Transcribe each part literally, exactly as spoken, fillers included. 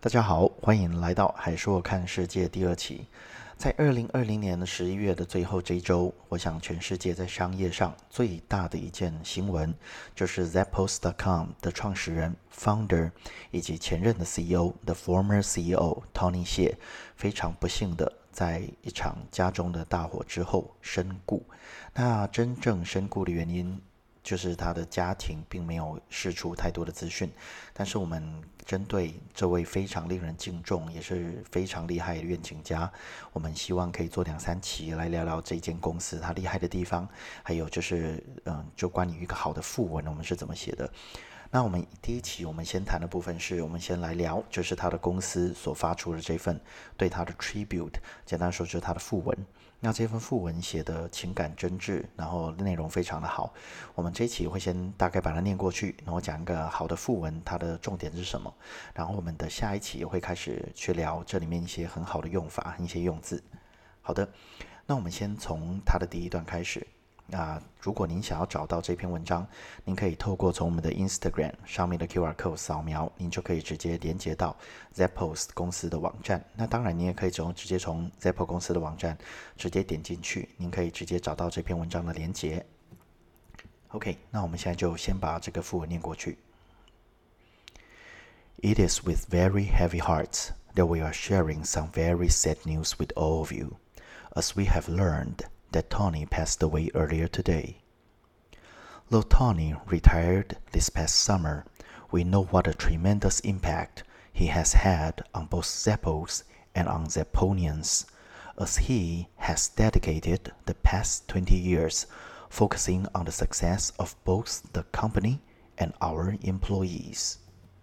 大家好，欢迎来到海硕看世界第二期。在二零二零年的十一月的最后这一周，我想全世界在商业上最大的一件新闻，就是 Zappos 点 com 的创始人 founder 以及前任的 C E O 的 former C E O Tony 谢，非常不幸的在一场家中的大火之后身故。那真正身故的原因，就是他的家庭并没有释出太多的资讯，但是我们针对这位非常令人敬重也是非常厉害的愿景家，我们希望可以做两三期来聊聊这间公司它厉害的地方，还有就是嗯，就关于一个好的副文我们是怎么写的。那我们第一期我们先谈的部分是我们先来聊就是他的公司所发出的这份对他的 tribute， 简单说就是他的副文。那这份副文写的情感真挚，然后内容非常的好。我们这一期会先大概把它念过去，然后讲一个好的副文，它的重点是什么。然后我们的下一期也会开始去聊这里面一些很好的用法，一些用字。好的，那我们先从它的第一段开始。啊，如果您想要找到这篇文章，您可以透过从我们的 Instagram 上面的 Q R code 扫描，您就可以直接连接到 Zappos 公司的网站。那当然，你也可以从直接从 Zappos 公司的网站直接点进去，您可以直接找到这篇文章的连接。OK， 那我们现在就先把这个副文念过去。It is with very heavy hearts that we are sharing some very sad news with all of you, as we have learned that Tony passed away earlier today. Though Tony retired this past summer, we know what a tremendous impact he has had on both Zappos and on Zapponians, as he has dedicated the past twenty years focusing on the success of both the company and our employees.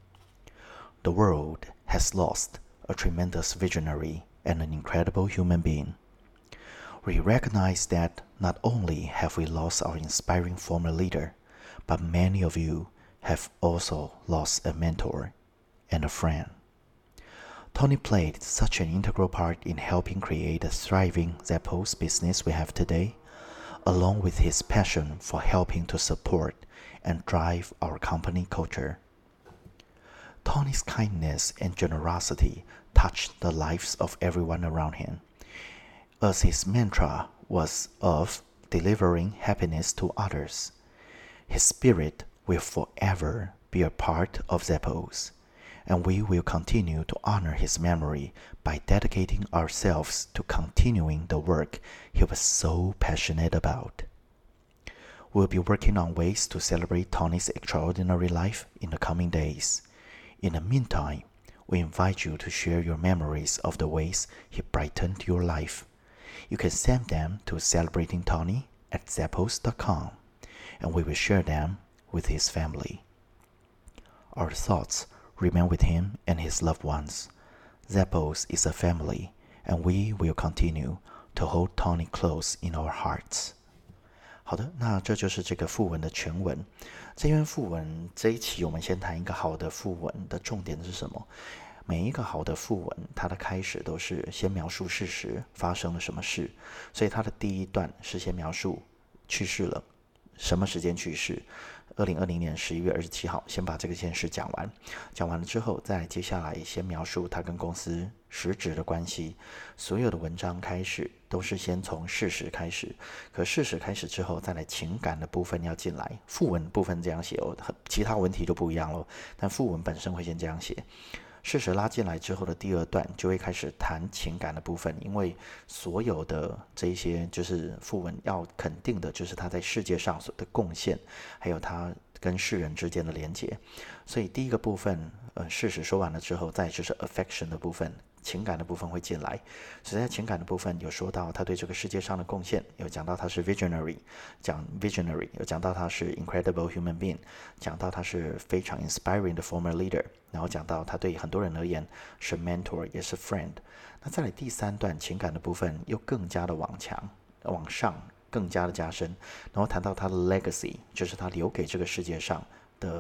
The world has lost a tremendous visionary and an incredible human being.We recognize that not only have we lost our inspiring former leader, but many of you have also lost a mentor and a friend. Tony played such an integral part in helping create the thriving Zappos business we have today, along with his passion for helping to support and drive our company culture. Tony's kindness and generosity touched the lives of everyone around him.As his mantra was of delivering happiness to others, his spirit will forever be a part of Zappos, and we will continue to honor his memory by dedicating ourselves to continuing the work he was so passionate about. We'll be working on ways to celebrate Tony's extraordinary life in the coming days. In the meantime, we invite you to share your memories of the ways he brightened your life.You can send them to Celebrating Tony at Zappos dot com, and we will share them with his family. Our thoughts remain with him and his loved ones. Zappos is a family, and we will continue to hold Tony close in our hearts. 好的，那这就是这个副文的全文。这篇副文这一期我们先谈一个好的副文的重点是什么？每一个好的副文，它的开始都是先描述事实发生了什么事，所以它的第一段是先描述去世了，什么时间去世？二零二零年十一月二十七号，先把这个件事讲完。讲完了之后，再接下来先描述他跟公司实质的关系。所有的文章开始都是先从事实开始，可事实开始之后，再来情感的部分要进来。副文部分这样写哦，其他文题就不一样了，但副文本身会先这样写。事实拉进来之后的第二段就会开始谈情感的部分，因为所有的这一些就是副文要肯定的就是他在世界上所的贡献，还有他跟世人之间的连结。所以第一个部分，呃，事实说完了之后，再就是 affection 的部分，情感的部分会进来。所以在情感的部分有说到他对这个世界上的贡献，有讲到他是 visionary， 讲 visionary， 有讲到他是 incredible human being， 讲到他是非常 inspiring 的 former leader， 然后讲到他对很多人而言是 mentor 也是 friend。 那再来第三段情感的部分又更加的往强往上更加的加深，然后谈到他的 legacy， 就是他留给这个世界上的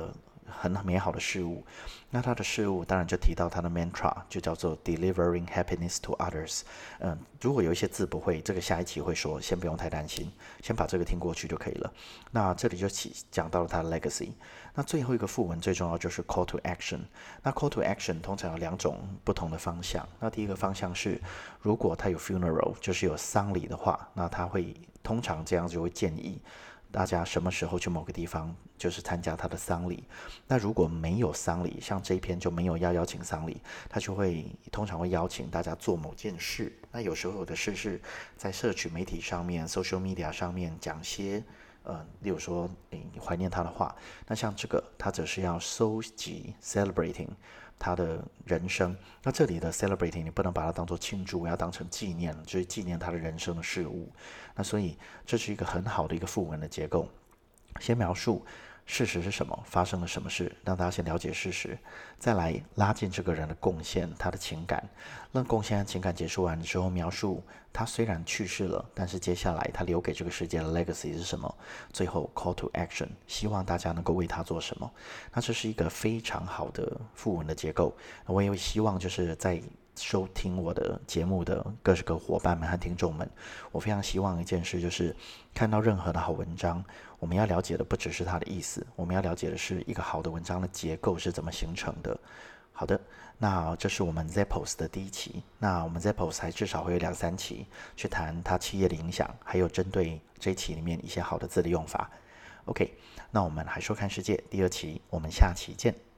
很美好的事物。那他的事物当然就提到他的 mantra， 就叫做 delivering happiness to others。嗯，如果有一些字不会，这个下一期会说，先不用太担心，先把这个听过去就可以了。那这里就起讲到了他的 legacy。那最后一个副文最重要就是 call to action。那 call to action 通常有两种不同的方向。那第一个方向是，如果他有 funeral， 就是有丧礼的话，那他会通常这样就会建议大家什么时候去某个地方，就是参加他的丧礼。那如果没有丧礼，像这一篇就没有要邀请丧礼，他就会通常会邀请大家做某件事。那有时候有的事是在社群媒体上面 social media 上面讲些呃，例如说你怀念他的话，那像这个他则是要收集 celebrating他的人生。那这里的 celebrating 你不能把它当作庆祝，要当成纪念，就是纪念他的人生的事物。那所以这是一个很好的一个副文的结构，先描述事实是什么，发生了什么事，让大家先了解事实，再来拉近这个人的贡献，他的情感。让贡献和情感结束完之后，描述他虽然去世了，但是接下来他留给这个世界的 legacy 是什么。最后 call to action， 希望大家能够为他做什么。那这是一个非常好的副文的结构。我也希望就是在收听我的节目的各个伙伴们和听众们，我非常希望一件事，就是看到任何的好文章，我们要了解的不只是它的意思，我们要了解的是一个好的文章的结构是怎么形成的。好的，那这是我们 Zappos 的第一期。那我们 Zappos 还至少会有两三期去谈它企业的影响，还有针对这一期里面一些好的字的用法。OK， 那我们还说看世界第二期，我们下期见。